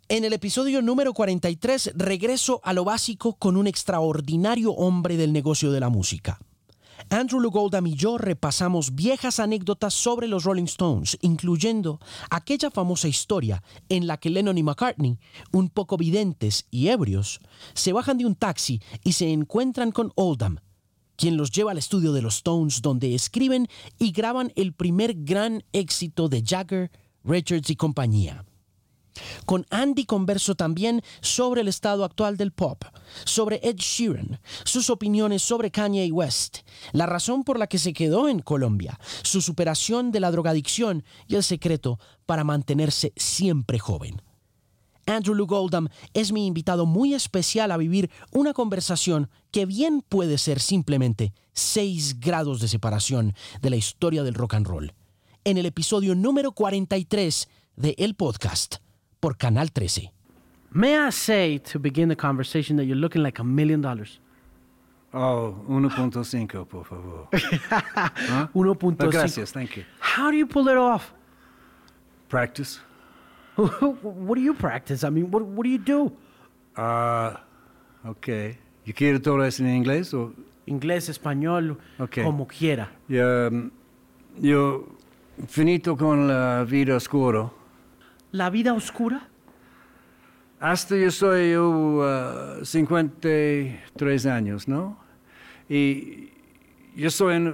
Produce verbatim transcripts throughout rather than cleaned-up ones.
En el episodio número cuarenta y tres, regreso a lo básico con un extraordinario hombre del negocio de la música. Andrew Loog Oldham y yo repasamos viejas anécdotas sobre los Rolling Stones, incluyendo aquella famosa historia en la que Lennon y McCartney, un poco videntes y ebrios, se bajan de un taxi y se encuentran con Oldham, quien los lleva al estudio de los Stones, donde escriben y graban el primer gran éxito de Jagger, Richards y compañía. Con Andy converso también sobre el estado actual del pop, sobre Ed Sheeran, sus opiniones sobre Kanye West, la razón por la que se quedó en Colombia, su superación de la drogadicción y el secreto para mantenerse siempre joven. Andrew Loog Oldham es mi invitado muy especial a vivir una conversación que bien puede ser simplemente seis grados de separación de la historia del rock and roll. En el episodio número cuarenta y tres de El Podcast por Canal trece. May I say, to begin the conversation, that you're looking like a million dollars? Oh, uno punto cinco, por favor. Huh? uno punto cinco. Gracias, thank you. How do you pull it off? Practice. What do you practice? I mean, what, what do you do? Ah, uh, ok. ¿Y quiere todo eso en inglés o...? Inglés, español, okay. Como quiera. Yo, um, yo finito con la vida oscura. ¿La vida oscura? Hasta yo soy uh, cincuenta y tres años, ¿no? Y yo soy, en, uh,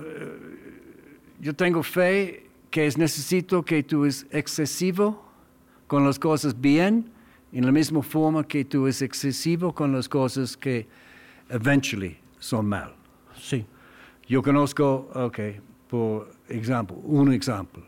yo tengo fe que es necesito que tú es excesivo con las cosas bien, en la misma forma que tú es excesivo con las cosas que eventually son mal. Sí. Yo conozco, ok, por ejemplo, un ejemplo,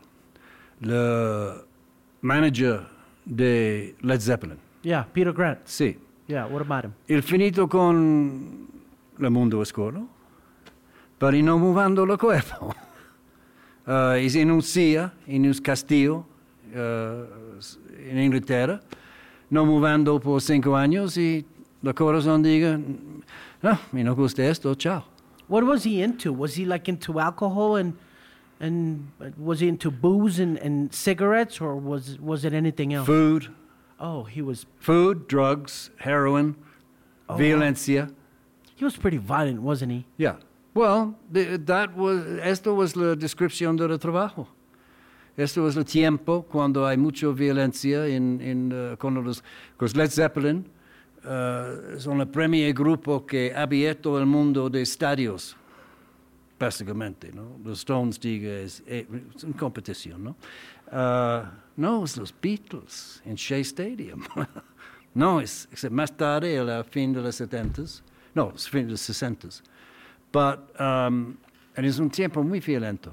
el manager de Led Zeppelin. Yeah, Peter Grant. Sí. Yeah, what about him? Il finito con el mundo oscuro, pero no movendo el cuerpo. Uh, es en un silla, en un castillo, uh, en Inglaterra, no movendo por cinco años y el corazón diga, no, me no gusta esto, chao. What was he into? Was he like into alcohol and and was he into booze and, and cigarettes, or was was it anything else? Food. Oh, he was... Food, drugs, heroin, oh, violencia. He was pretty violent, wasn't he? Yeah. Well, the, that was, esto was la descripción del trabajo. Esto es el tiempo cuando hay mucha violencia en, en, uh, con los... Because Led Zeppelin uh, son el primer grupo que ha abierto el mundo de estadios, básicamente, ¿no? Los Stones, diga, es, es una competición, ¿no? Uh, no, es los Beatles en Shea Stadium. No, es, es más tarde, a la fin de los setentas. No, es fin de los sesentas. But um, es un tiempo muy violento.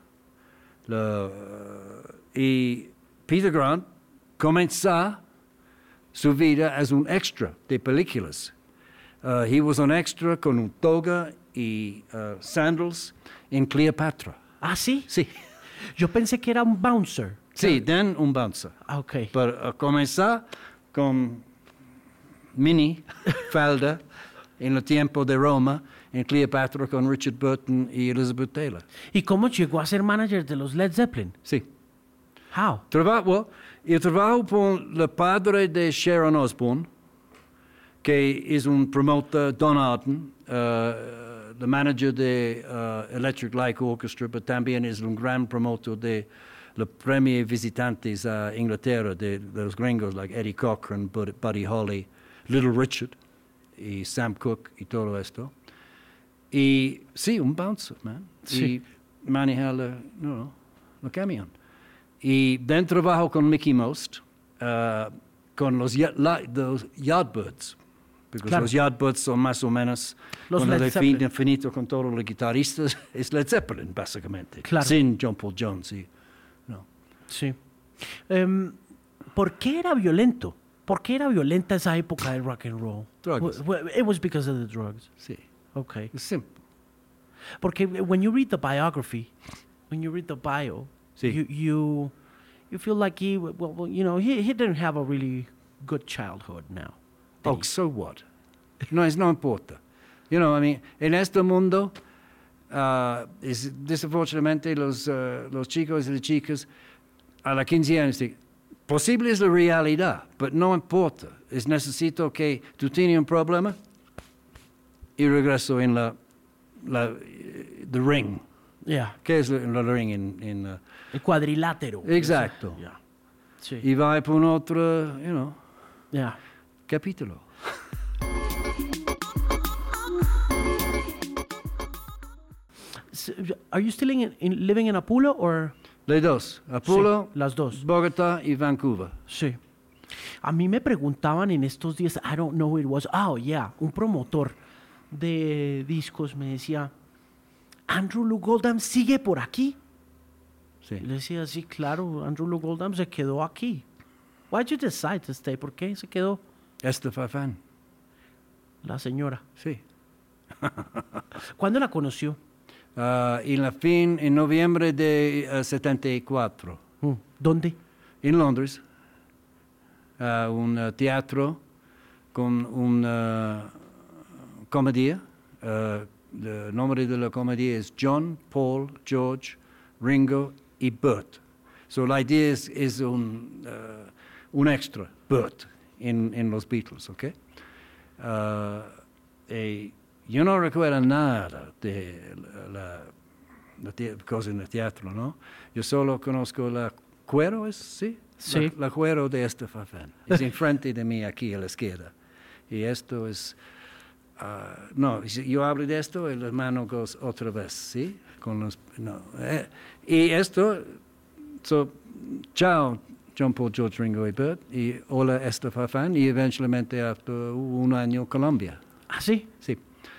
La, uh, y Peter Grant comenzó su vida as un extra de películas. Uh, he was an extra con un toga y uh, sandals en Cleopatra. ¿Ah, sí? Sí. Yo pensé que era un bouncer. Sí, then un bouncer. Ah, ok. Pero uh, comenzó con mini falda en el tiempo de Roma, en Cleopatra con Richard Burton y Elizabeth Taylor. ¿Y cómo llegó a ser manager de los Led Zeppelin? Sí. How? Trabajo, yo trabajo con el padre de Sharon Osbourne, que es un promotor, Don Arden, uh, el manager de uh, Electric Light Orchestra, pero también es un gran promotor de los premios visitantes a Inglaterra, de, de los gringos, like Eddie Cochran, Buddy Holly, Little Richard, y Sam Cooke, y todo esto. Y sí, un bouncer, man. Sí. Y maneja la, no, el camión. Y dentro trabajo con Mickey Most, uh, con los, los Yardbirds. Porque claro. Los Yardbirds son más o menos, los con Led el Zeppelin. infinito con todos los guitarristas, es Led Zeppelin, básicamente. Claro. Sin John Paul Jones. Y, no. Sí. Um, ¿Por qué era violento? ¿Por qué era violenta esa época del rock and roll? Drugs. W- It was because of the drugs. Sí. Okay. Es simple. Porque when you read the biography, when you read the bio, Sí. you, you you feel like he, well, well you know, he, he didn't have a really good childhood now. Oh, so what? No, es no importa. You know, I mean, en este mundo, uh, es, desafortunadamente los, uh, los chicos y las chicas a los quince años dicen, posible es la realidad, pero no importa. Es necesito que tú tienes un problema y regreso en la, la the ring. Yeah. ¿Qué es el ring en, en uh, El cuadrilátero. Exacto. Yeah. Sí. Y va por un otro, you know, Yeah. capítulo. So, are you still in, in, living in Apolo or? Las dos, Apolo, Sí, las dos. Bogotá y Vancouver. Sí. A mí me preguntaban en estos días, I don't know who it was, oh yeah, un promotor de discos me decía, Andrew Luke Oldham sigue por aquí. Sí. Y le decía, sí, claro, Andrew Luke Oldham se quedó aquí. Why did you decide to stay? ¿Por qué se quedó? Esther Farfán. La señora. Sí. ¿Cuándo la conoció? Uh, en la fin, en noviembre de uh, setenta y cuatro, Mm, ¿Dónde? en Londres, uh, un uh, teatro con una comedia. Uh, el nombre de la comedia es John, Paul, George, Ringo y Bert. So la idea es, es un, uh, un extra, Bert, en, en los Beatles, ¿ok? Uh, y yo no recuerdo nada de la, la, la cosa en el teatro, ¿no? Yo solo conozco la cuero, ¿es? ¿Sí? Sí. La, la cuero de Esther Farfán. Es enfrente de mí, aquí a la izquierda. Y esto es... Uh, no, si yo hablo de esto, el hermano goes otra vez, ¿sí? Con los... No. Eh, y esto... So, chao, John Paul, George, Ringo y Bert. Y hola, Esther Farfán. Y eventualmente, hasta un año, Colombia. ¿Ah, sí? Sí.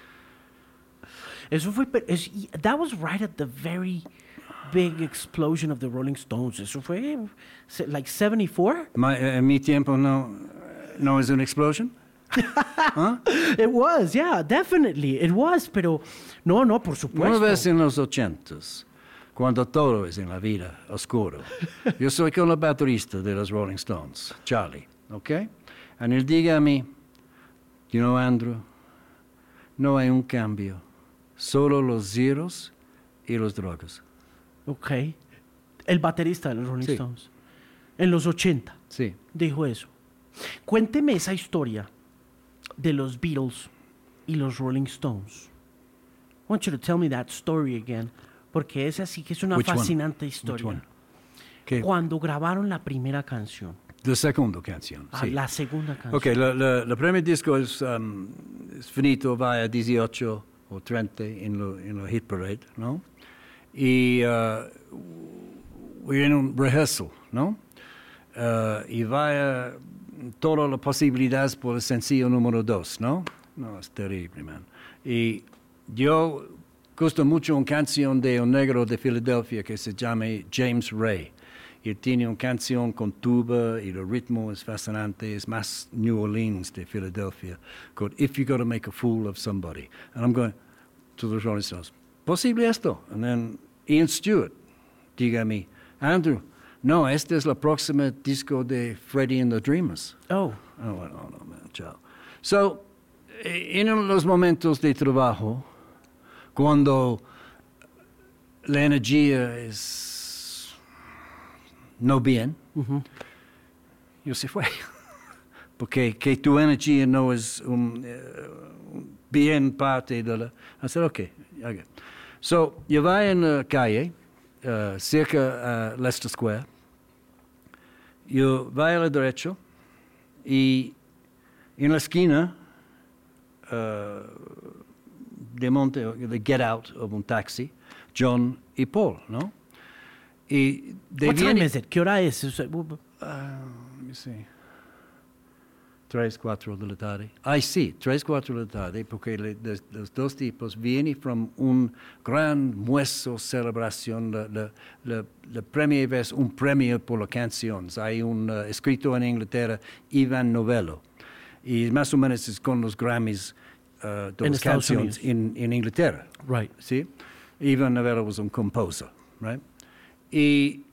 Eso fue, pe- es- y- that was right at the very big explosion of the Rolling Stones. Eso fue, se- like seventy-four? Ma, eh, en mi tiempo no, no es una explosión. ¿Ah? It was, yeah, definitely, it was, pero no, no, por supuesto. Una vez en los ochentas, cuando todo es en la vida oscuro, yo soy con el baterista de los Rolling Stones, Charlie, ¿ok? Y él diga a mí, you know, Andrew, no hay un cambio, solo los zeros y los drogas. Ok. El baterista de los Rolling Sí. Stones. En los ochenta, Sí. dijo eso. Cuénteme esa historia de los Beatles y los Rolling Stones. I want you to tell me that story again, porque esa sí que es una Which one? fascinante Which historia. one? ¿Qué? Cuando grabaron la primera canción, La segunda canción, ah, sí. la segunda canción. Ok, la, la, la primer disco es, um, es finito, va a dieciocho o treinta en lo, en lo hit parade, ¿no? Y uh, we're en un rehearsal, ¿no? Uh, y va a todas las posibilidades por el sencillo número dos, ¿no? No, es terrible, man. Y yo gusto mucho una canción de un negro de Filadelfia que se llama James Ray. Y tiene una canción con tuba y el ritmo es fascinante. Es más New Orleans de Filadelfia. Called If You Gotta Make a Fool of Somebody. And I'm going to the Rolling Stones. ¿Posible esto? And then Ian Stewart, diga a mí, Andrew, no, este es la próxima disco de Freddie and the Dreamers. Oh, Oh, bueno, no, man, chao. So, eh, en los momentos de trabajo, cuando la energía es no bien, yo se fue. Porque que tu energía no es un, eh, un bien parte de la... I said, okay. okay. So, yo voy en la calle, uh, cerca a Leicester Square. Yo voy a la derecha y en la esquina uh, de monte, de get out of un taxi, John y Paul, ¿no? Y de what viene- time is it? ¿Qué hora es? O sea, Uh, let me see. Tres, cuatro de la tarde. Ay, sí, tres, cuatro de la tarde, porque le- los, los dos tipos vienen from un gran mueso celebración, la, la, la, la primera vez un premio por las canciones. Hay un uh, escritor en Inglaterra, Ivan Novello, y más o menos es con los Grammys uh, de En las Estados canciones en, en Inglaterra. right. ¿Sí? Ivan Novello was un composer, right? Y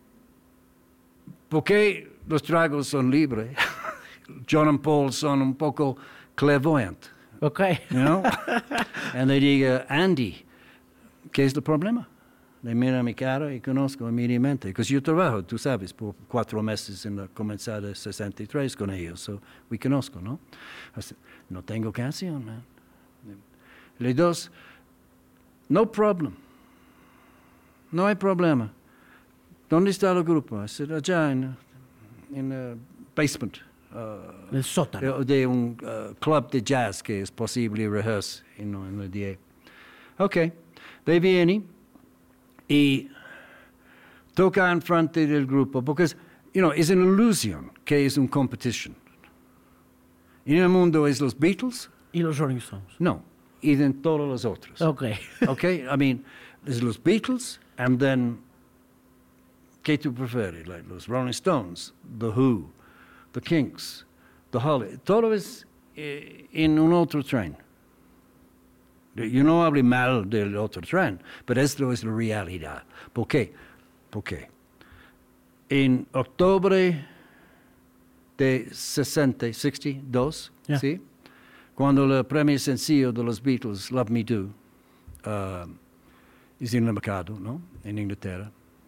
porque los tragos son libres, John and Paul son un poco clairvoyant, Okay. you know? And they diga, Andy, ¿qué es el problema? le miro a mi cara y conozco inmediatamente. Porque yo trabajo, tú sabes, por cuatro meses en la comenzada de sesenta y tres con ellos. So, we conozco, ¿no? Así, no tengo canción, man. Le dos, no problem. No hay problema. ¿Dónde está el grupo? I said, allá en el basement. Uh, El sótano. de, de un uh, club de jazz que es posible rehearse en, en el día. Ok, de viene y toca en frente del grupo, porque you know, es una ilusión que es una competition. En el mundo es los Beatles. ¿Y los Rolling Stones? No, y en todos los otros. Ok. Ok, I mean, es los Beatles, and then, ¿qué tú prefieres? Like los Rolling Stones, The Who, The Kinks, The Holly, todo es eh, en un otro tren. Yo no hablo mal del otro tren, pero esto es la realidad. ¿Por qué? Porque en octubre de sesenta, sesenta y dos, Yeah. ¿sí? Cuando el primer sencillo de los Beatles, Love Me Do, uh, es en el mercado, ¿no? En Inglaterra,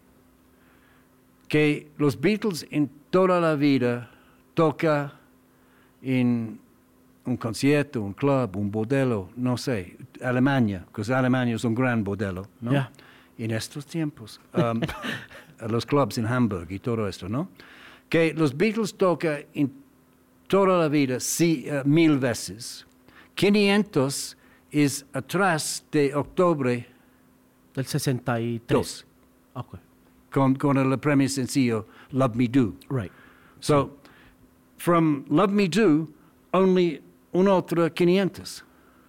que los Beatles en toda la vida toca en un concierto, un club, un bordello, no sé, Alemania, porque Alemania es un gran bordello, ¿no? Yeah. En estos tiempos, um, los clubs en Hamburg y todo esto, ¿no? Que los Beatles tocan en toda la vida sí, uh, mil veces. quinientos es atrás de octubre Del sesenta y tres. dos, Ok. con, con el primer sencillo, Love Me Do. Right. So, from Love Me Do, only un otro quinientos.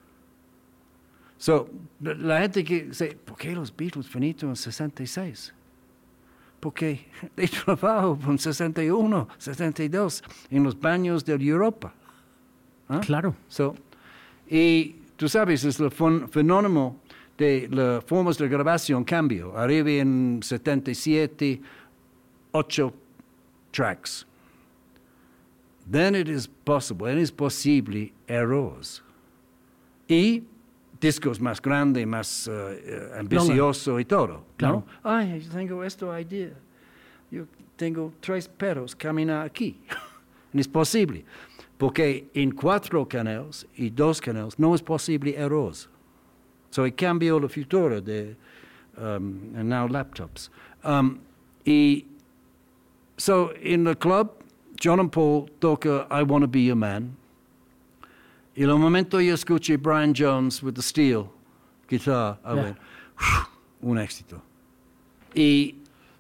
So, la gente que dice, ¿por qué los Beatles finito en sesenta y seis? Porque de trabajo en sesenta y uno, sesenta y dos, en los baños de Europa. ¿Ah? Claro. So, y tú sabes, es el fen- fenómeno de las formas de grabación cambio. Arriba en setenta y siete, ocho tracks. Then it is possible, it is posible errores. Y discos más grandes, más uh, ambicioso y todo. Claro. ¿No? Ay, yo tengo esta idea. Yo tengo tres perros caminar aquí. No es posible. Porque en cuatro canales y dos canales no es posible errores. So it cambió el futuro de um, and now laptops. Um, y so in the club, John and Paul toca I Want to Be Your Man. Y en el momento yo escuché Brian Jones with the steel guitar, I Yeah. went, un éxito. Y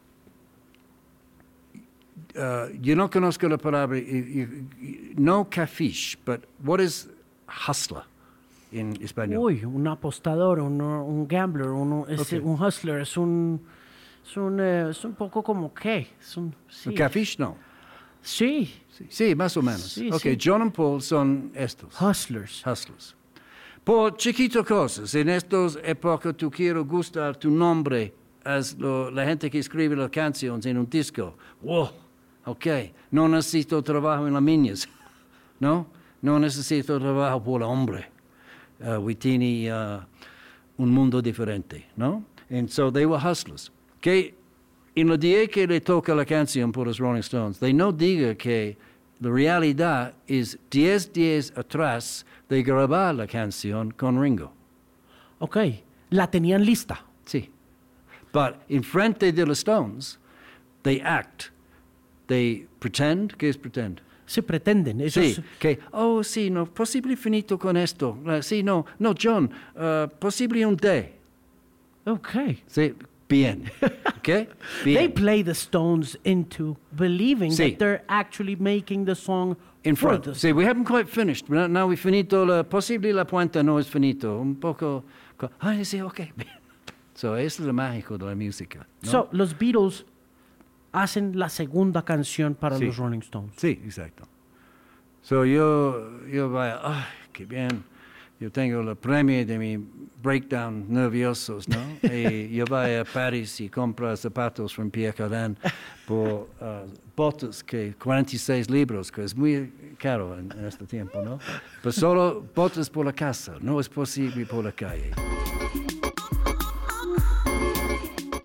uh, yo no conozco la palabra, y, y, y, no cafiche, but what is hustler en español? Uy, un apostador, un, un gambler, un, es, Okay. un hustler, es un, es un, eh, es un poco como qué, es un, sí. Cafiche no. Sí, Sí, sí, más o menos. Sí, ok, sí. John and Paul son estos. hustlers. Hustlers. Por chiquito cosas, en estas épocas tú quieres gustar tu nombre as lo, la gente que escribe las canciones en un disco. Wow, ok, no necesito trabajo en las minas, ¿no? No necesito trabajo por el hombre. Uh, we tiene uh, un mundo diferente, ¿no? And so they were hustlers. Que en el día que le toca la canción por los Rolling Stones, they no diga que la realidad es diez días atrás de grabar la canción con Ringo. Ok, la tenían lista. Sí. But en frente de los Stones, they act. They pretend, ¿qué es pretend? Se pretenden. Ellos, Sí, que, oh, sí, no, posible finito con esto. Uh, sí, no, no, John, uh, posible un day. Ok. Sí, bien. ¿Ok? Bien. They play the Stones into believing Sí. that they're actually making the song In for front. the See, we haven't quite finished. Now now we finito. La, posible la puenta no es finito. Un poco. co- Ay, sí, ok. So, eso es lo mágico de la música. ¿no? So, los Beatles hacen la segunda canción para Sí. los Rolling Stones. Sí, exacto. So, yo, yo vaya, ay, qué bien. Yo tengo el premio de mi breakdown nerviosos, ¿no? Y yo voy a París y compro zapatos en Pierre Cardin por uh, botas que cuarenta y seis libros, que es muy caro en, en este tiempo, ¿no? Pero solo botas por la casa, no es posible por la calle.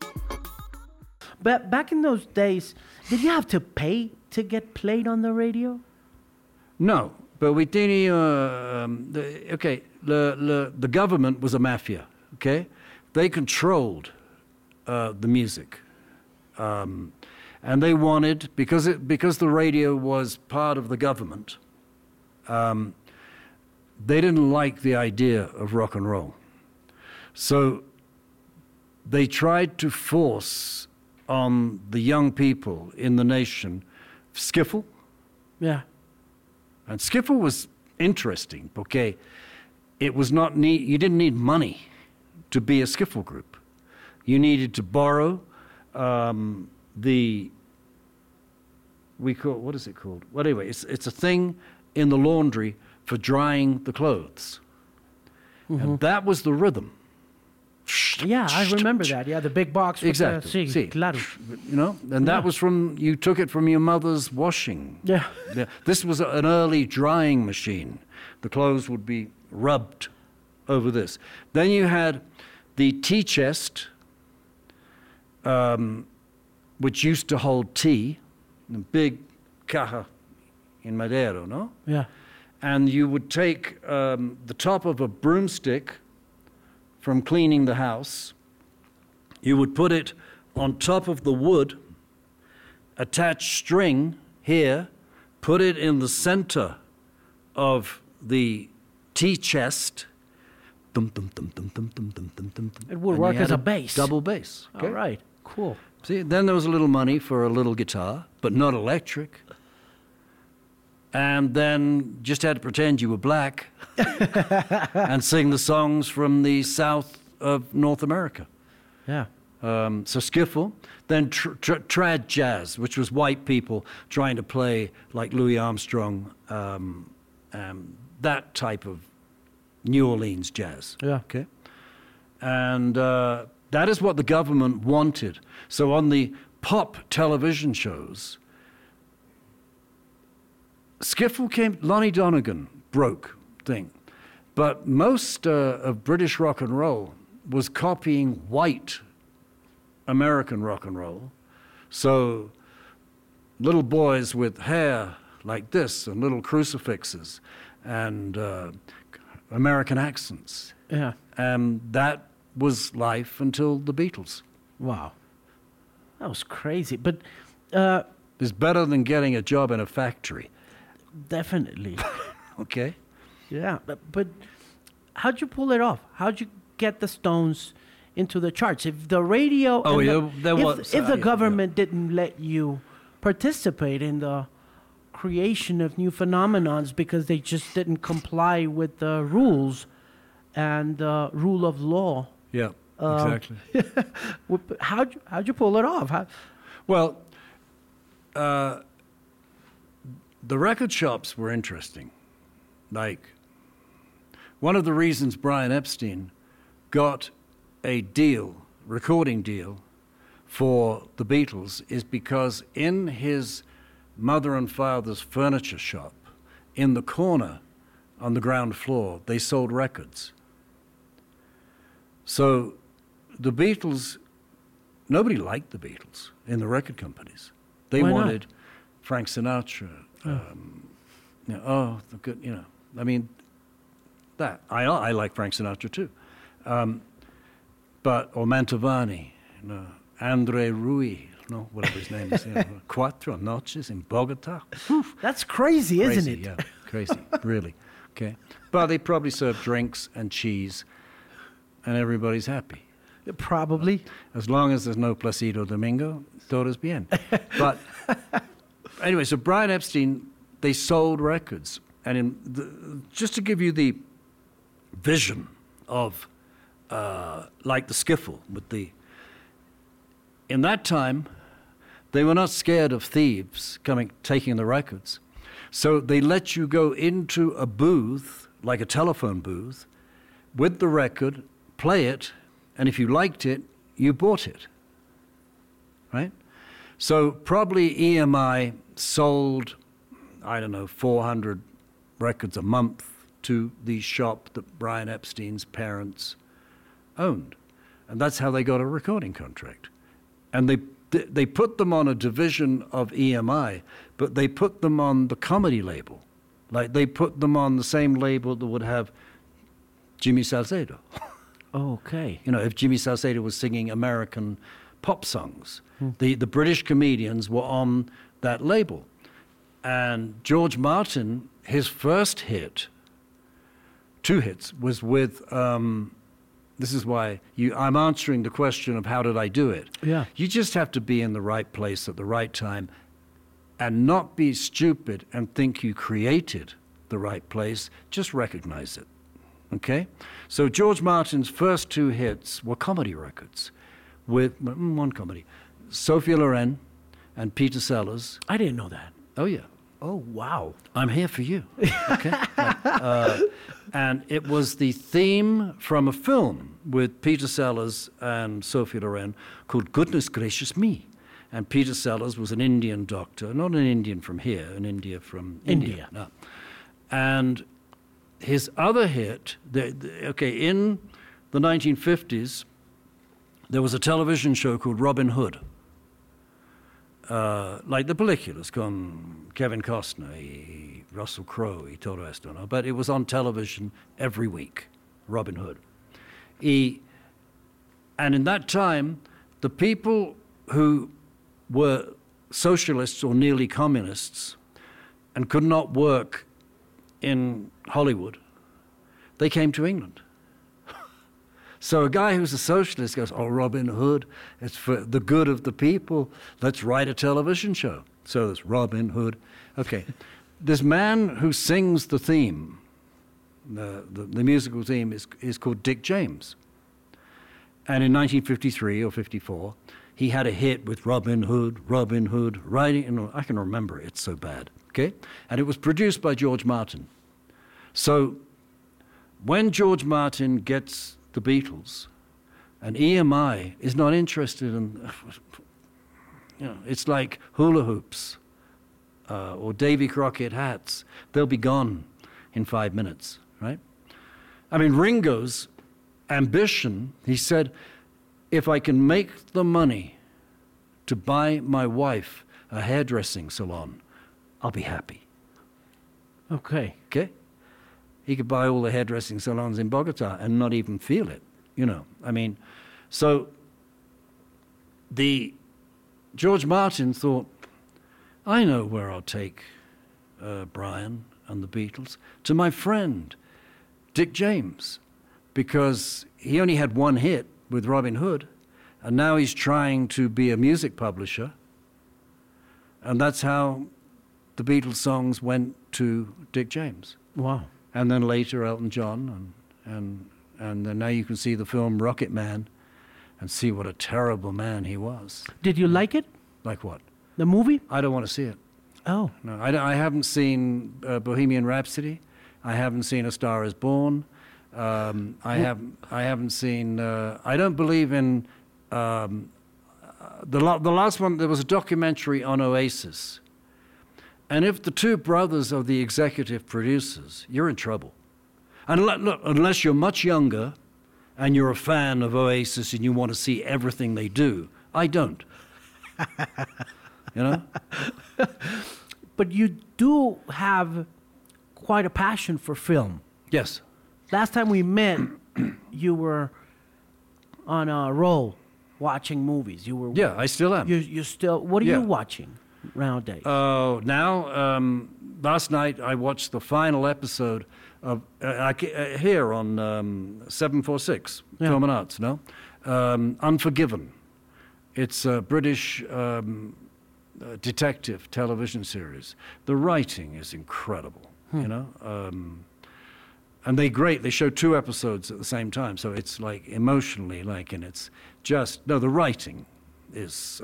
But back in those days, did you have to pay to get played on the radio? No, but we didn't. Uh, um, the, okay, the, the the government was a mafia. Okay, they controlled uh, the music, um, and they wanted because it because the radio was part of the government. Um, they didn't like the idea of rock and roll, so they tried to force on the young people in the nation skiffle. Yeah. And skiffle was interesting because it was not need, you didn't need money to be a skiffle group. You needed to borrow um, the, we call, what is it called? Well, anyway, it's, it's a thing in the laundry for drying the clothes. Mm-hmm. And that was the rhythm. Yeah, I remember that. Yeah, the big box. With Exactly. The, sí, Sí. claro. You know, and that Yeah. was from, you took it from your mother's washing. Yeah. Yeah. This was an early drying machine. The clothes would be rubbed over this. Then you had the tea chest, um, which used to hold tea, a big caja in madero, no? Yeah. And you would take um, the top of a broomstick from cleaning the house, you would put it on top of the wood, attach string here, put it in the center of the tea chest. Dum, dum, dum, dum, dum, dum, dum, dum, dum, It would and you work had as a bass. Double bass. Okay? All right. Cool. See, then there was a little money for a little guitar, but not electric. And then just had to pretend you were black and sing the songs from the south of North America. Yeah. Um, so skiffle, then tr- tr- trad jazz, which was white people trying to play like Louis Armstrong, um, um, that type of New Orleans jazz. Yeah. Okay. And uh, that is what the government wanted. So on the pop television shows, skiffle came, Lonnie Donegan broke thing. But most uh, of British rock and roll was copying white American rock and roll. So little boys with hair like this and little crucifixes and uh, American accents. Yeah. And that was life until the Beatles. Wow. That was crazy. But uh, It's better than getting a job in a factory. definitely. Okay? Yeah. But, but how'd you pull it off? How'd you get the Stones into the charts? If the radio... Oh, and yeah, the, there if, was- if uh, the yeah, government didn't let you participate in the creation of new phenomenons because they just didn't comply with the rules and the rule of law. Yeah, Um, exactly. Wh- How'd you, how'd you pull it off? How, Well, uh, the record shops were interesting. Like, one of the reasons Brian Epstein got a deal, recording deal, for the Beatles is because in his mother and father's furniture shop, in the corner on the ground floor, they sold records. So the Beatles, nobody liked the Beatles in the record companies. They Why not? wanted Frank Sinatra. Um, you know, oh, the good, you know. I mean, that I I like Frank Sinatra too, um, but or Mantovani, you know, Andre Rui, no, whatever his name is, you know, Cuatro Noches in Bogota. that's crazy, isn't Crazy, it? yeah, crazy, really. Okay, but they probably serve drinks and cheese, and everybody's happy. Probably. As long as there's no Placido Domingo, todo es bien. But anyway, so Brian Epstein, they sold records. And in the, just to give you the vision of, uh, like the skiffle with the, in that time, they were not scared of thieves coming, taking the records. So they let you go into a booth, like a telephone booth, with the record, play it, and if you liked it, you bought it, right? So probably E M I sold, I don't know, four hundred records a month to the shop that Brian Epstein's parents owned. And that's how they got a recording contract. And they th- they put them on a division of E M I, but they put them on the comedy label. Like they put them on the same label that would have Jimmy Salcedo. Okay. You know, if Jimmy Salcedo was singing American pop songs, Hmm. the, the British comedians were on that label. And George Martin, his first hit, two hits, was with, um, this is why you, I'm answering the question of how did I do it. Yeah. You just have to be in the right place at the right time and not be stupid and think you created the right place. Just recognize it. Okay? So George Martin's first two hits were comedy records with mm, one comedy, Sophia Loren and Peter Sellers. I didn't know that. Oh, yeah. Oh, wow. I'm here for you. Okay? uh, and it was the theme from a film with Peter Sellers and Sophia Loren called Goodness Gracious Me. And Peter Sellers was an Indian doctor, not an Indian from here, an India from India. India. No. And his other hit, the, the, okay, in the nineteen fifties, there was a television show called Robin Hood. Uh, like the películas con Kevin Costner, y Russell Crowe y todo esto, ¿no? But it was on television every week, Robin Hood. Y, and in that time, the people who were socialists or nearly communists and could not work in Hollywood, they came to England. So a guy who's a socialist goes, oh, Robin Hood, it's for the good of the people. Let's write a television show. So there's Robin Hood. Okay. This man who sings the theme, the, the, the musical theme, is, is called Dick James. And in nineteen fifty-three or fifty-four, he had a hit with Robin Hood, Robin Hood, writing, and I can remember it, it's so bad. Okay? And it was produced by George Martin. So when George Martin gets the Beatles, and E M I is not interested in, you know, it's like hula hoops uh, or Davy Crockett hats. They'll be gone in five minutes, right? I mean, Ringo's ambition, he said, if I can make the money to buy my wife a hairdressing salon, I'll be happy. Okay. Okay? He could buy all the hairdressing salons in Bogota and not even feel it, you know. I mean, so the George Martin thought, I know where I'll take uh, Brian and the Beatles, to my friend, Dick James, because he only had one hit with Robin Hood, and now he's trying to be a music publisher, and that's how the Beatles songs went to Dick James. Wow. And then later Elton John, and and and then now you can see the film Rocket Man, and see what a terrible man he was. Did you like it? Like what? The movie? I don't want to see it. Oh. No, I, don't- I haven't seen uh, Bohemian Rhapsody. I haven't seen A Star Is Born. Um, I haven't. I haven't seen. Uh, I don't believe in um, uh, the la- the last one. There was a documentary on Oasis. And if the two brothers are the executive producers, you're in trouble. And le- look, unless you're much younger and you're a fan of Oasis and you want to see everything they do, I don't. You know? But you do have quite a passion for film. Yes. Last time we met, you were on a roll watching movies. You were. Yeah, I still am. You you still. What are Yeah. you watching nowadays? Oh, now, um, last night I watched the final episode of, uh, I ca- uh, here on um, seven forty-six, Yeah. Film and Arts, no? Um, Unforgiven. It's a British um, uh, detective television series. The writing is incredible, you know? Um, and they great, they show two episodes at the same time, so it's like emotionally, like, and it's just, no, the writing is,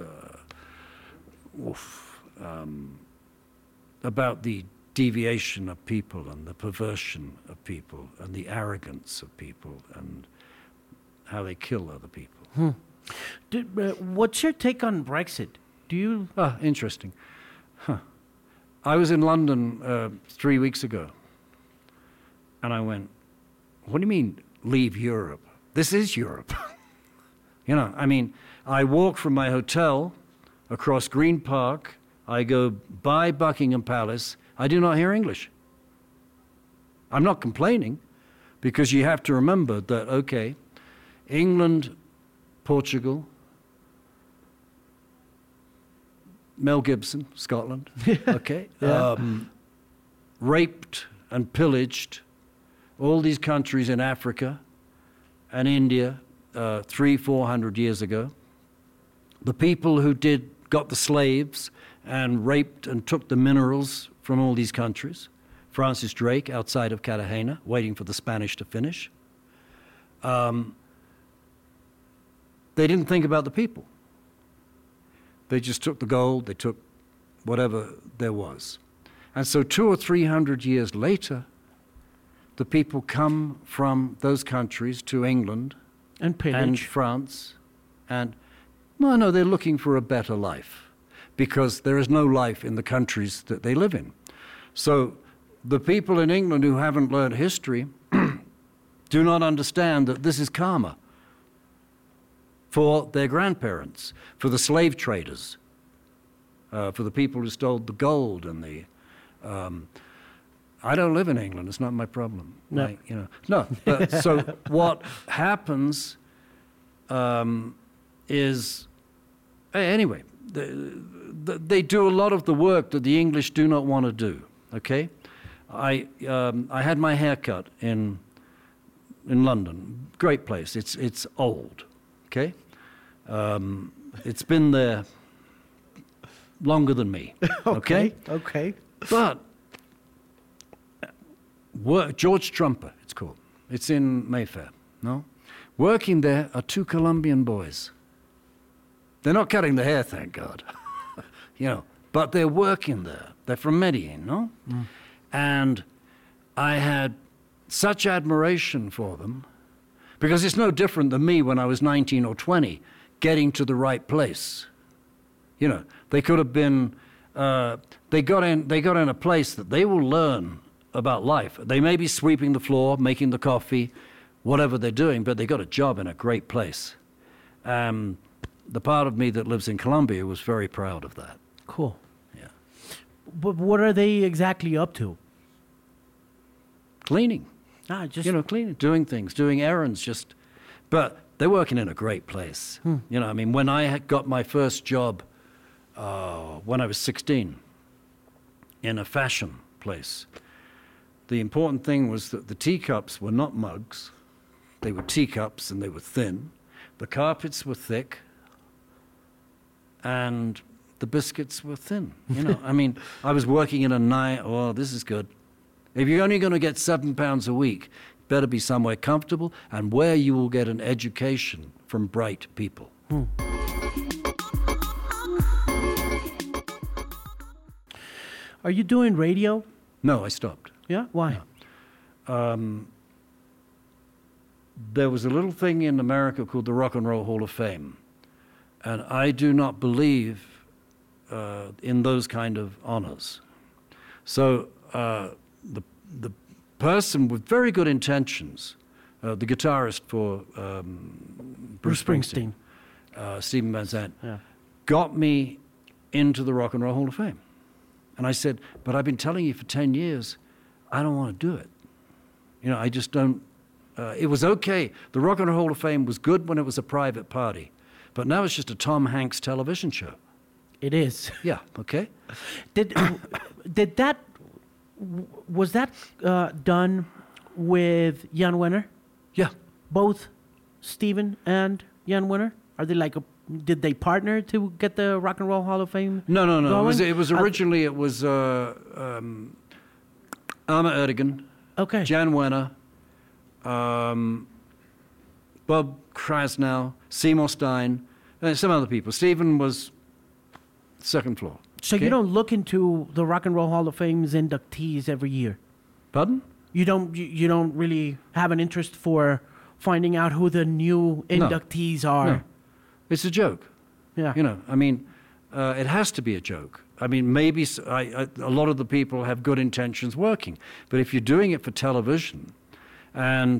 uh, oof. Um, about the deviation of people and the perversion of people and the arrogance of people and how they kill other people. Did, uh, what's your take on Brexit? Do you? Ah, interesting. Huh. I was in London uh, three weeks ago, and I went, what do you mean, leave Europe? This is Europe. You know, I mean, I walked from my hotel across Green Park, I go by Buckingham Palace, I do not hear English. I'm not complaining, because you have to remember that, okay, England, Portugal, Mel Gibson, Scotland, okay, Yeah. um, raped and pillaged all these countries in Africa and India uh, three, four hundred years ago. The people who did got the slaves and raped and took the minerals from all these countries. Francis Drake outside of Cartagena, waiting for the Spanish to finish. Um, they didn't think about the people. They just took the gold, they took whatever there was. And so two or three hundred years later, the people come from those countries to England And pillage. and France, and no, no, they're looking for a better life, because there is no life in the countries that they live in. So the people in England who haven't learned history do not understand that this is karma for their grandparents, for the slave traders, uh, for the people who stole the gold and the. Um, I don't live in England. It's not my problem. No. I, you know, no. But, so what happens um, is, anyway, the, the, they do a lot of the work that the English do not want to do. Okay, I um, I had my hair cut in in London. Great place. It's it's old. Okay, um, it's been there longer than me. Okay, Okay. but work, George Trumper, it's called. It's in Mayfair. No, working there are two Colombian boys. They're not cutting the hair, thank God. You know, but they're working there. They're from Medellin, no? Mm. And I had such admiration for them, because it's no different than me when I was nineteen or twenty, getting to the right place. You know, they could have been, uh, they got in, they got in a place that they will learn about life. They may be sweeping the floor, making the coffee, whatever they're doing, but they got a job in a great place. Um, the part of me that lives in Colombia was very proud of that. Cool. Yeah. But what are they exactly up to? Cleaning. Ah, just You know, cleaning, doing things, doing errands, just, but they're working in a great place. Hmm. You know, I mean, when I had got my first job uh, when I was sixteen in a fashion place, the important thing was that the teacups were not mugs. They were teacups and they were thin. The carpets were thick and the biscuits were thin. You know, I mean, I was working in a night, oh, this is good. If you're only going to get seven pounds a week, better be somewhere comfortable and where you will get an education from bright people. Hmm. Are you doing radio? No, I stopped. Yeah? Why? Um, there was a little thing in America called the Rock and Roll Hall of Fame. And I do not believe uh, in those kind of honors. So uh, the, the person with very good intentions, uh, the guitarist for um, Bruce, Bruce Springsteen, Springsteen. uh, Stephen Van Zandt, Yeah. got me into the Rock and Roll Hall of Fame. And I said, but I've been telling you for ten years, I don't want to do it. You know, I just don't, uh, it was okay. The Rock and Roll Hall of Fame was good when it was a private party. But now it's just a Tom Hanks television show. It is. Yeah, okay? Did did that was that uh, done with Jan Wenner? Yeah. Both Steven and Jan Wenner? Are they like a did they partner to get the Rock and Roll Hall of Fame? No, no, no. It was, going? it was originally, it was uh, um, Irma Erdogan, Okay. Jan Wenner, um, Bob Krasnow, Seymour Stein, and some other people. Stephen was second floor. So okay? you don't look into the Rock and Roll Hall of Fame's inductees every year. Pardon? You don't. You, you don't really have an interest for finding out who the new inductees are. No. It's a joke. Yeah. You know, I mean, uh, it has to be a joke. I mean, maybe s I I a lot of the people have good intentions working, but if you're doing it for television, and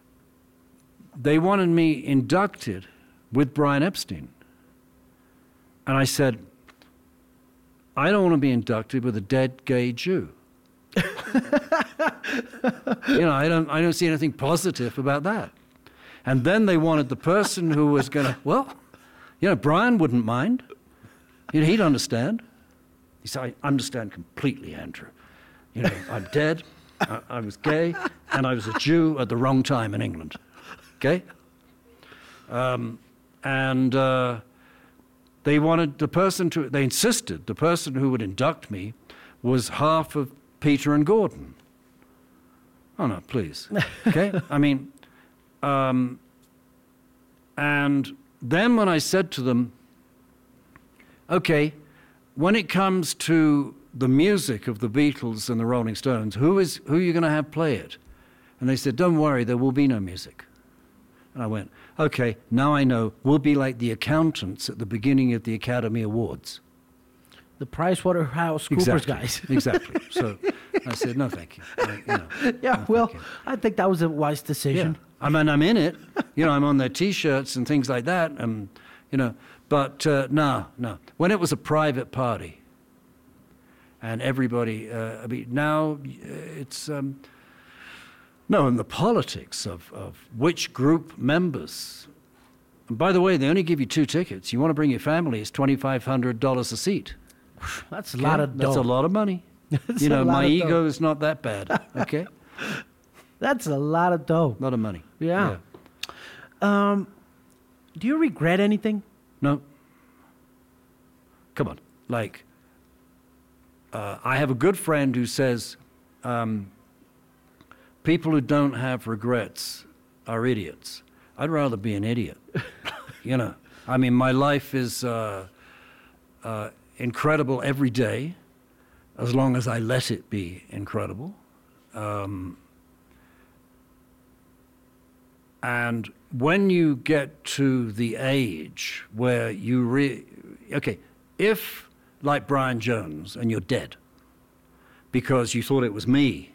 they wanted me inducted with Brian Epstein, And I said, I don't want to be inducted with a dead gay Jew. You know, I don't, I don't see anything positive about that. And then they wanted the person who was going to, well, you know, Brian wouldn't mind. You know, he'd understand. He said, I understand completely, Andrew. You know, I'm dead, I, I was gay, and I was a Jew at the wrong time in England. Okay? Um, and uh, they wanted the person to, they insisted the person who would induct me was half of Peter and Gordon. Oh, no, please. Okay? I mean, um, and then when I said to them, okay, when it comes to the music of the Beatles and the Rolling Stones, who is who are you going to have play it? And they said, don't worry, there will be no music. And I went, okay, now I know. We'll be like the accountants at the beginning of the Academy Awards. The PricewaterhouseCoopers Exactly. guys. Exactly. So I said, no, thank you. I, you know, Yeah, no, well, thank you. I think that was a wise decision. Yeah. I mean, I'm in it. You know, I'm on their T-shirts and things like that. And, you know, but uh, no, no. When it was a private party and everybody, uh, I mean, now it's, um, no, and the politics of, of which group members. And by the way, they only give you two tickets. You want to bring your family, it's twenty-five hundred dollars a seat. That's a Okay? lot of dough. That's a lot of money. That's You a know, lot my of ego dough. is not that bad. Okay? That's a lot of dough. A lot of money. Yeah. Um, do you regret anything? No. Come on. Like, uh, I have a good friend who says, um, people who don't have regrets are idiots. I'd rather be an idiot. You know, I mean, my life is uh, uh, incredible every day, as long as I let it be incredible. Um, and when you get to the age where you re... Okay, if, like Brian Jones, and you're dead because you thought it was me,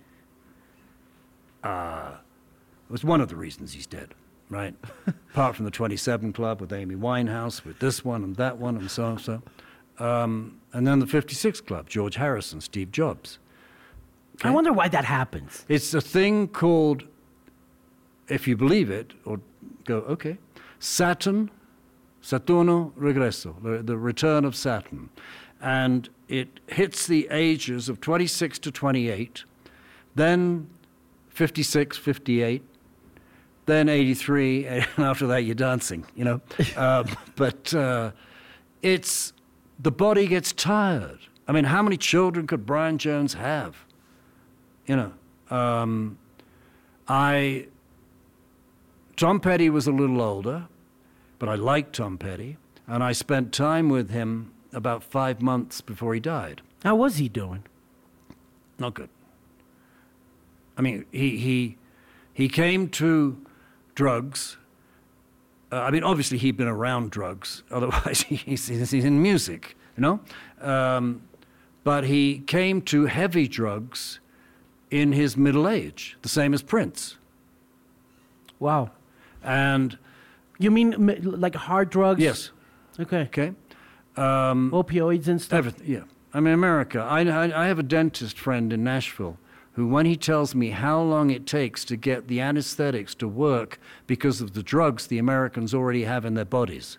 uh, it was one of the reasons he's dead, right? Apart from the twenty-seven Club with Amy Winehouse, with this one and that one and so and so. Um, and then the fifty-six Club, George Harrison, Steve Jobs. I wonder why that happens. It's a thing called, if you believe it, or go, okay, Saturn, Saturno Regreso, the, the return of Saturn. And it hits the ages of twenty-six to twenty-eight, then fifty-six, fifty-eight, then eighty-three, and after that you're dancing, you know. uh, but uh, it's, the body gets tired. I mean, how many children could Brian Jones have? You know, um, I, Tom Petty was a little older, but I liked Tom Petty, and I spent time with him about five months before he died. How was he doing? Not good. I mean, he he he came to drugs. Uh, I mean, obviously he'd been around drugs. Otherwise, he's, he's in music, you know. Um, but he came to heavy drugs in his middle age, the same as Prince. Wow. And You mean m- like hard drugs? yes, Okay. okay. Um, Opioids and stuff? Everything, yeah. I mean, America. I, I, I have a dentist friend in Nashville who, when he tells me how long it takes to get the anesthetics to work because of the drugs the Americans already have in their bodies,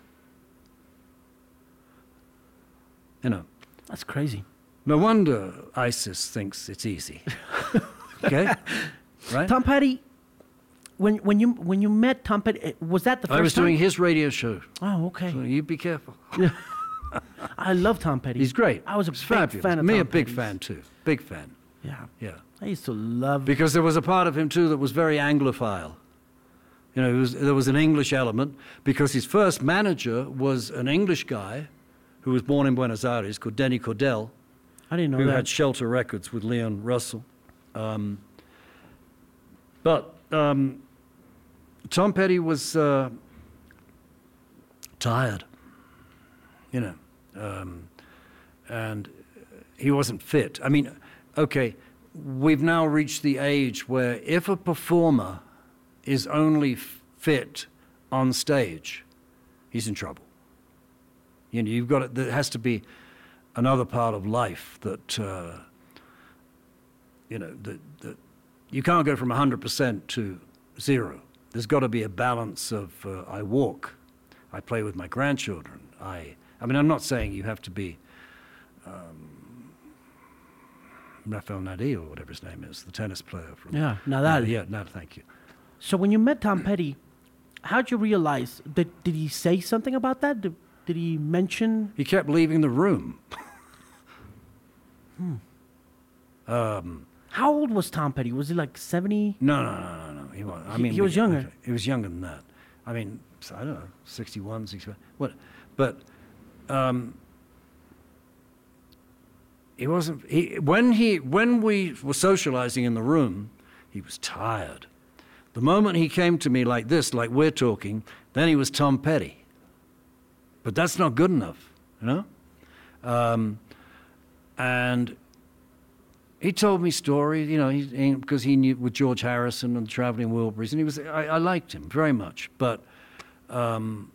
you know, That's crazy. no wonder ISIS thinks it's easy. Okay, right? Tom Petty, when when you when you met Tom Petty, eh, was that the first I was time? doing his radio show, Oh, okay. so you be careful. I love Tom Petty. He's great. I was a He's big fabulous. fan of Me, Tom a big Petty's. fan too. Big fan. Yeah. Yeah. I used to love. Because there was a part of him, too, that was very Anglophile. You know, it was, there was an English element, because his first manager was an English guy who was born in Buenos Aires called Denny Cordell, I didn't know who that. had Shelter Records with Leon Russell. Um, but um, Tom Petty was uh, tired, you know, um, and he wasn't fit. I mean, okay, we've now reached the age where if a performer is only f- fit on stage, he's in trouble. You know, you've got to, there has to be another part of life that, uh, you know, that, that you can't go from one hundred percent to zero. There's got to be a balance of uh, I walk, I play with my grandchildren. I, I mean, I'm not saying you have to be um, Rafael Nadal or whatever his name is, the tennis player from. Yeah, Nadal. Uh, yeah, no, thank you. So when you met Tom Petty, how'd you realize that? Did he say something about that? Did, did he mention? He kept leaving the room. hmm. Um, How old was Tom Petty? Was he like seventy? No, no, no, no, no. He was. I He- mean, he was we- younger. okay, He was younger than that. I mean, I don't know, sixty-one, sixty-one. What? But um, he wasn't. He when he when we were socializing in the room, he was tired. The moment he came to me like this, like we're talking, then he was Tom Petty. But that's not good enough, you know. Um, and he told me stories, you know, he, he, because he knew with George Harrison and the Traveling Wilburys, and he was. I, I liked him very much, but um,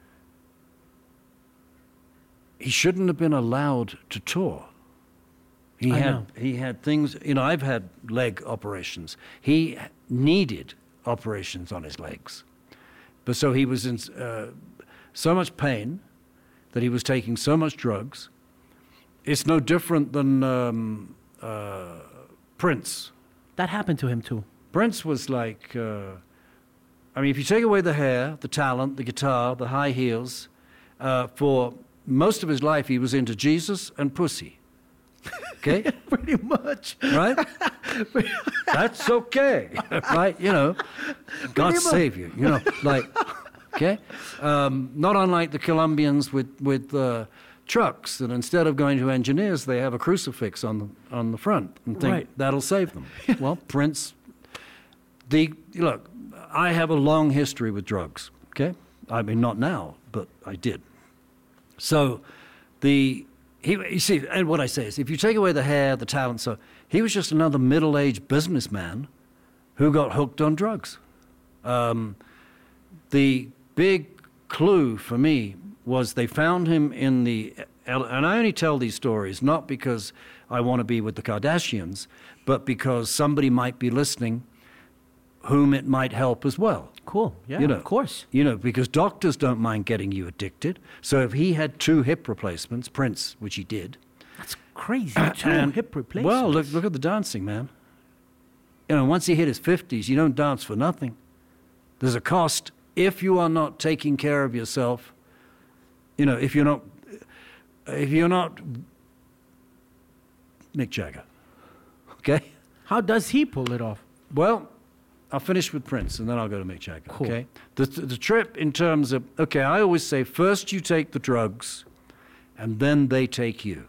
he shouldn't have been allowed to tour. He I had know. he had things. You know, I've had leg operations. He needed operations on his legs, but so he was in uh, so much pain that he was taking so much drugs. It's no different than. Um, Uh, Prince. That happened to him too. Prince was like, uh, I mean, if you take away the hair, the talent, the guitar, the high heels, uh, for most of his life he was into Jesus and pussy. Okay? Pretty much. Right? That's okay. Right? You know, God save you. You know, like, okay? Um, not unlike the Colombians with, with uh, trucks, that instead of going to engineers, they have a crucifix on the on the front and think Right. that'll save them. Well, Prince, the look, I have a long history with drugs. Okay, I mean not now, but I did. So, the he you see, and what I say is, if you take away the hair, the talent, so he was just another middle-aged businessman who got hooked on drugs. Um, the big clue for me was they found him in the, and I only tell these stories not because I want to be with the Kardashians, but because somebody might be listening whom it might help as well. Cool. Yeah, You know, of course. You know, because doctors don't mind getting you addicted. So if he had two hip replacements, Prince, which he did. That's crazy. Two and- hip replacements. Well, look, look at the dancing, man. You know, once he hit his fifties, you don't dance for nothing. There's a cost if you are not taking care of yourself. You know, if you're not, if you're not Mick Jagger, okay? How does he pull it off? Well, I'll finish with Prince, and then I'll go to Mick Jagger, Cool. okay? The, the trip in terms of, okay, I always say first you take the drugs, and then they take you.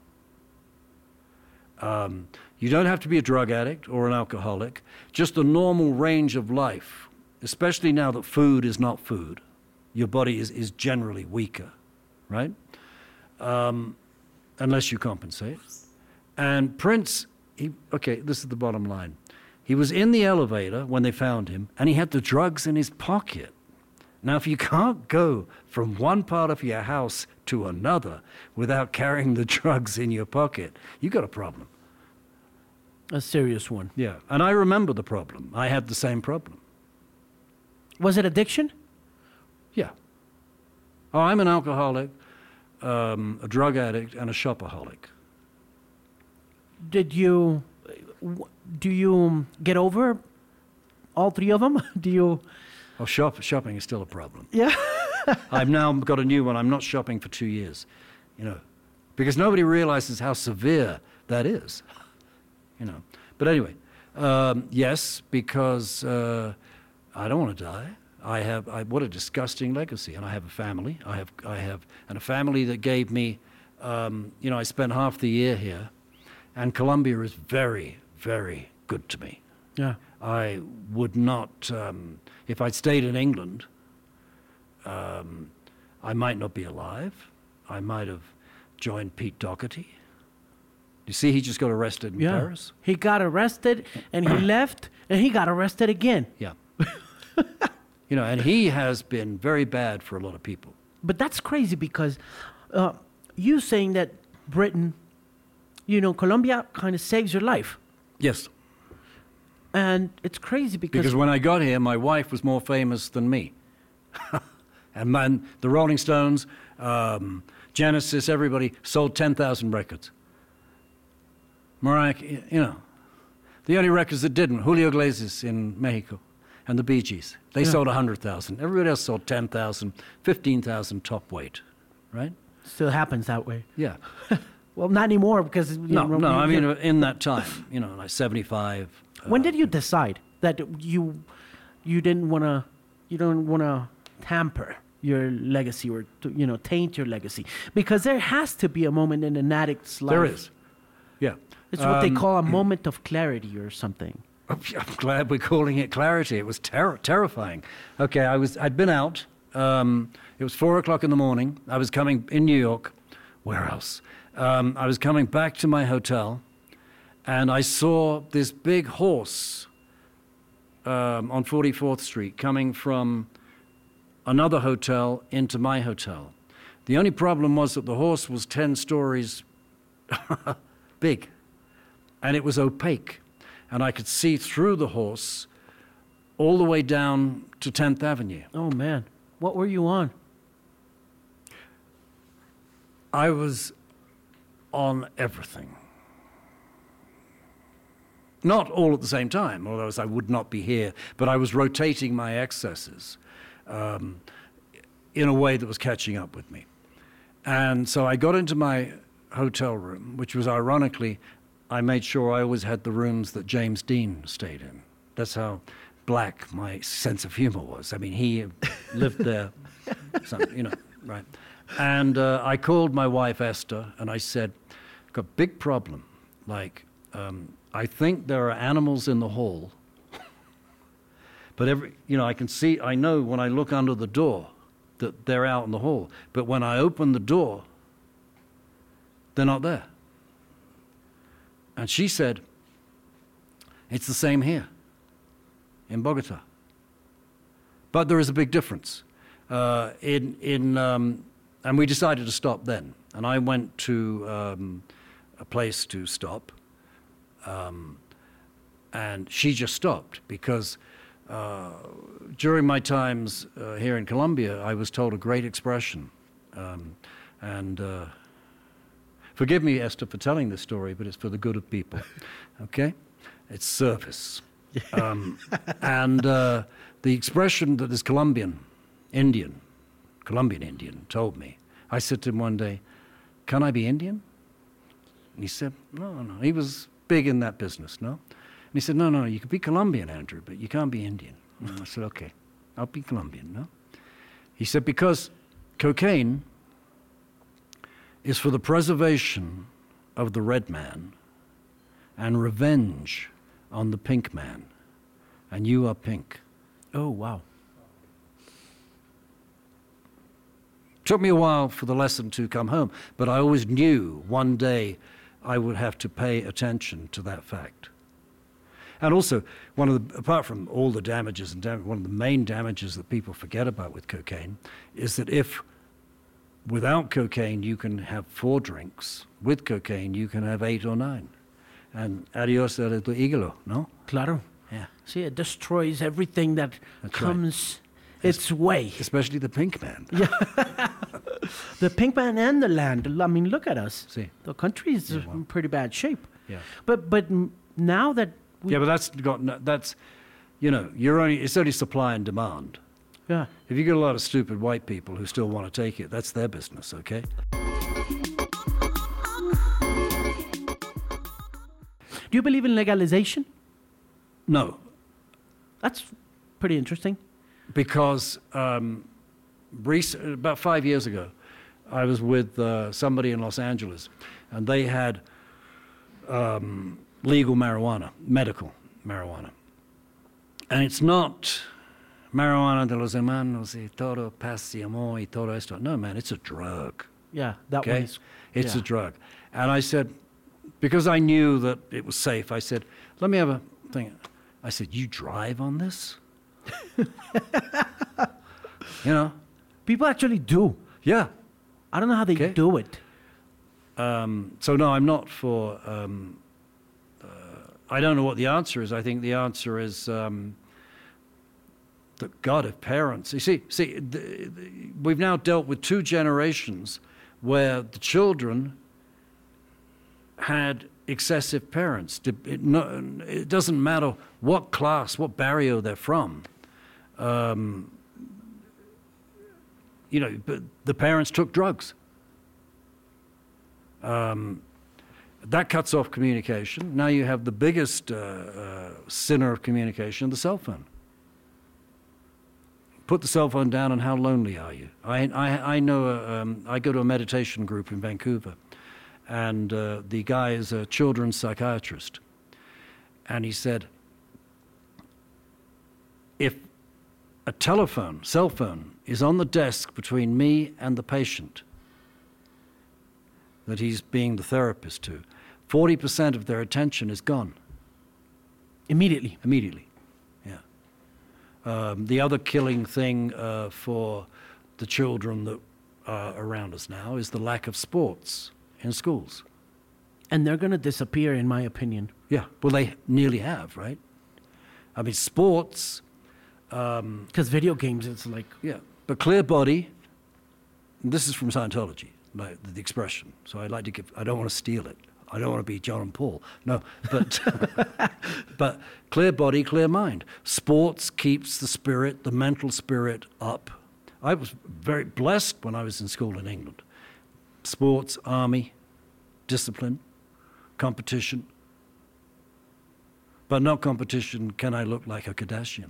Um, you don't have to be a drug addict or an alcoholic, just a normal range of life, especially now that food is not food. Your body is, is generally weaker, right? Um, unless you compensate. And Prince, he, okay, this is the bottom line. He was in the elevator when they found him, and he had the drugs in his pocket. Now, if you can't go from one part of your house to another without carrying the drugs in your pocket, you got a problem. A serious one. Yeah, and I remember the problem. I had the same problem. Was it addiction? Yeah. Oh, I'm an alcoholic, um, a drug addict, and a shopaholic. Did you, w- do you get over all three of them? Do you? Oh, shop, shopping is still a problem. Yeah. I've now got a new one. I'm not shopping for two years, you know, because nobody realizes how severe that is, you know. But anyway, um, yes, because uh, I don't want to die. I have I, what a disgusting legacy, and I have a family. I have I have and a family that gave me, um, you know, I spent half the year here, and Colombia is very very good to me. Yeah. I would not, um, if I'd stayed in England, um, I might not be alive. I might have joined Pete Doherty. You see, he just got arrested in Yeah. Paris. He got arrested and he left and he got arrested again. Yeah. You know, and he has been very bad for a lot of people. But that's crazy because uh, you saying that Britain, you know, Colombia kind of saves your life. Yes. And it's crazy because... Because when I got here, my wife was more famous than me. And man, the Rolling Stones, um, Genesis, everybody sold ten thousand records. Mariah, you know, the only records that didn't, Julio Iglesias in Mexico and the Bee Gees, they Yeah. sold one hundred thousand. Everybody else sold ten thousand, fifteen thousand top weight, right? Still happens that way. Yeah. Well, not anymore because... You No, know, no, I you- mean, in that time, you know, like seventy-five. When uh, did you decide that you you didn't want to you don't want to tamper your legacy or to, you know taint your legacy? Because there has to be a moment in an addict's life. There is. Yeah. It's what they Um, call a moment of clarity or something. I'm glad we're calling it clarity. It was ter- terrifying. Okay, I was, I'd been out. Um, it was four o'clock in the morning. I was coming in New York. Where else? Um, I was coming back to my hotel, and I saw this big horse um, on forty-fourth Street coming from another hotel into my hotel. The only problem was that the horse was ten stories big, and it was opaque. And I could see through the horse all the way down to tenth Avenue. Oh man, what were you on? I was on everything. Not all at the same time, although I would not be here, but I was rotating my excesses um, in a way that was catching up with me. And so I got into my hotel room, which was ironically, I made sure I always had the rooms that James Dean stayed in. That's how black my sense of humor was. I mean, he lived there, some, you know, right. And uh, I called my wife, Esther, and I said, got a big problem. Like, um, I think there are animals in the hall, but every, you know, I can see, I know when I look under the door that they're out in the hall. But when I open the door, they're not there. And she said, it's the same here in Bogota. But there is a big difference. Uh, in, in, um, and we decided to stop then. And I went to um, a place to stop. Um, and she just stopped because uh, during my times uh, here in Colombia, I was told a great expression. Um, and uh, forgive me, Esther, for telling this story, but it's for the good of people, okay? It's service. Um, and uh, the expression that this Colombian Indian, Colombian Indian, told me, I said to him one day, can I be Indian? And he said, no, no. He was big in that business, no? And he said, no, no, you can be Colombian, Andrew, but you can't be Indian. And I said, okay, I'll be Colombian, no? He said, because cocaine is for the preservation of the red man and revenge on the pink man. And you are pink. Oh wow. Took me a while for the lesson to come home, but I always knew one day I would have to pay attention to that fact. And also, one of the, apart from all the damages and dam- one of the main damages that people forget about with cocaine is that if without cocaine you can have four drinks, with cocaine you can have eight or nine. And adios a tu hígado, no? Claro. Yeah. See, it destroys everything that That's comes its way. Especially the pink man. The pink man and the land. I mean, look at us. See. The country is Yeah, well. in pretty bad shape. Yeah. But but m- now that we, Yeah, but that's got no, that's, you know, you're only it's only supply and demand. yeah. If you get a lot of stupid white people who still want to take it, that's their business, okay? Do you believe in legalization? No, That's pretty interesting. because um, rec- about five years ago, I was with uh, somebody in Los Angeles, and they had um, legal marijuana, medical marijuana. And it's not marijuana de los hermanos y todo paz y amor y todo esto. No, man, it's a drug. Yeah, that Okay? one is. It's yeah. a drug. And I said, because I knew that it was safe, I said, let me have a thing. I said, you drive on this? You know? People actually do. Yeah. I don't know how they Okay. do it. Um, so no, I'm not for. Um, uh, I don't know what the answer is. I think the answer is um, that God of parents. You see, see, the, the, we've now dealt with two generations where the children had excessive parents. It, no, it doesn't matter what class, what barrio they're from. Um, you know, but the parents took drugs. Um, that cuts off communication. Now you have the biggest uh, uh, sinner of communication, the cell phone. Put the cell phone down, and how lonely are you? I, I, I know, a, um, I go to a meditation group in Vancouver, and uh, the guy is a children's psychiatrist. And he said, if a telephone, cell phone, is on the desk between me and the patient that he's being the therapist to, forty percent of their attention is gone. Immediately. Immediately, yeah. Um, the other killing thing uh, for the children that are around us now is the lack of sports in schools. And they're going to disappear, in my opinion. Yeah, well, they nearly have, right? I mean, sports... Um, Because video games, it's like... yeah, but clear body, this is from Scientology, like the expression, so I like to give, I don't want to steal it. I don't want to be John and Paul. No, but but clear body, clear mind. Sports keeps the spirit, the mental spirit up. I was very blessed when I was in school in England. Sports, army, discipline, competition. But not competition, can I look like a Kardashian?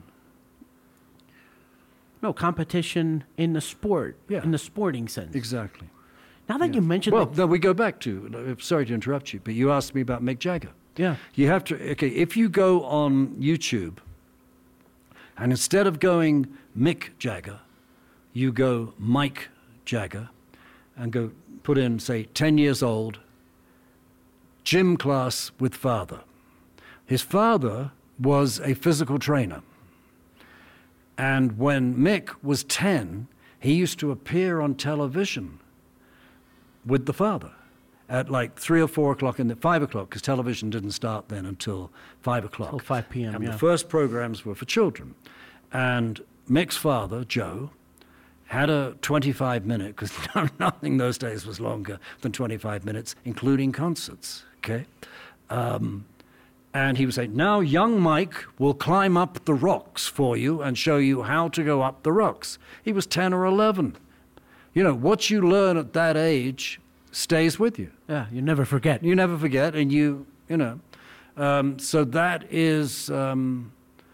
No, competition in the sport, Yeah. in the sporting sense. Exactly. Now that you mentioned... Well, the- then we go back to, uh, sorry to interrupt you, but you asked me about Mick Jagger. Yeah. You have to, okay, if you go on YouTube and instead of going Mick Jagger, you go Mike Jagger and go put in, say, ten years old, gym class with father. His father was a physical trainer. And when Mick was ten, he used to appear on television with the father at like three or four o'clock in the five o'clock, because television didn't start then until five o'clock. Till five p.m., And yeah. the first programs were for children. And Mick's father, Joe, had a twenty-five minute, because nothing those days was longer than twenty-five minutes, including concerts, okay? Um, and he would say, now young Mike will climb up the rocks for you and show you how to go up the rocks. He was ten or eleven. You know, what you learn at that age stays with you. Yeah, you never forget. You never forget, and you, you know. Um, so that is, um,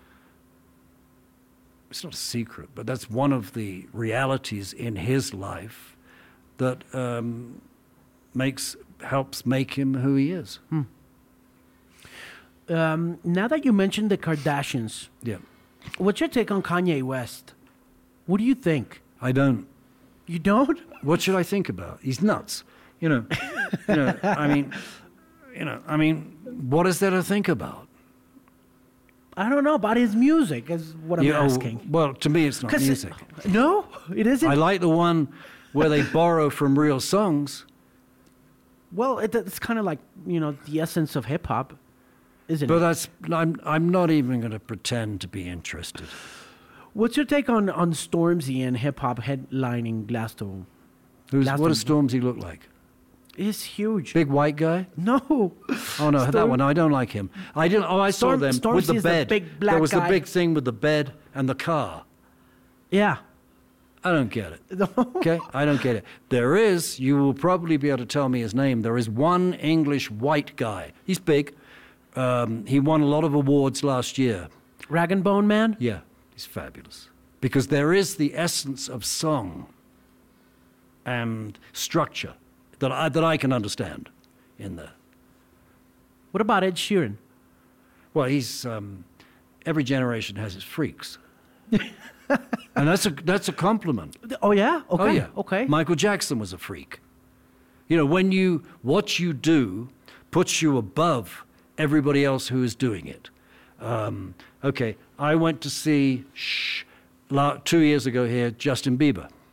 it's not a secret, but that's one of the realities in his life that um, makes, helps make him who he is. Hmm. Um, now that you mentioned the Kardashians, Yeah. what's your take on Kanye West? What do you think? I don't. You don't? What should I think about? He's nuts. You know, you know, I mean, you know, I mean, what is there to think about? I don't know about his music, is what I'm You know, asking. well, to me, it's not 'Cause it- music. no, it isn't. I like the one where they borrow from real songs. well, it, it's kind of like, you know, the essence of hip hop, isn't But it? that's, I'm, I'm not even going to pretend to be interested. What's your take on, on Stormzy and hip hop headlining Glastonbury? Who's, Last what one. does Stormzy look like? It's huge. Big white guy? No. Oh no, that Storm- one. I don't like him. I didn't. Oh, I Storm- saw them Stormzy with the is the bed. big black there was guy. the big thing with the bed and the car. Yeah. I don't get it. Okay, I don't get it. There is. You will probably be able to tell me his name. There is one English white guy. He's big. Um, he won a lot of awards last year. Rag and Bone Man? Yeah, he's fabulous. Because there is the essence of song and structure that I, that I can understand in there. What about Ed Sheeran? Well, he's um, every generation has its freaks, and that's a that's a compliment. Oh, yeah? Okay. Oh yeah, Okay. Michael Jackson was a freak. You know, when you what you do puts you above everybody else who is doing it. Um, okay, I went to see shh, la, two years ago here Justin Bieber.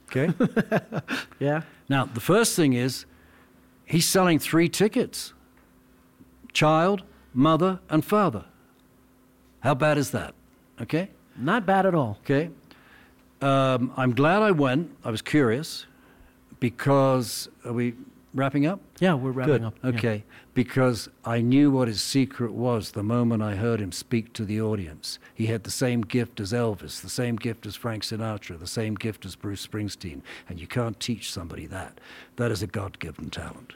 Okay? Yeah. Now, the first thing is he's selling three tickets. Child, mother, and father. How bad is that? Okay? Not bad at all. Okay? Um, I'm glad I went. I was curious because, are we wrapping up? Yeah, we're wrapping Good. up. Yeah. Okay. Because I knew what his secret was the moment I heard him speak to the audience. He had the same gift as Elvis, the same gift as Frank Sinatra, the same gift as Bruce Springsteen. And you can't teach somebody that. That is a God-given talent.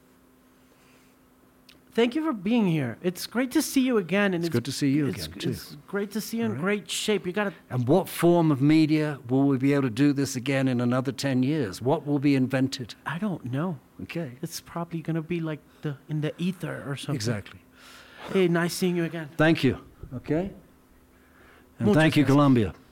Thank you for being here. It's great to see you again. And It's good to see you it's, again, too. It's great to see you in All right. great shape. You got to. And what form of media will we be able to do this again in another ten years? What will be invented? I don't know. Okay. It's probably gonna be like the in the ether or something. Exactly. Hey, nice seeing you again. Thank you. Okay? And Muchas thank you, gracias. Colombia.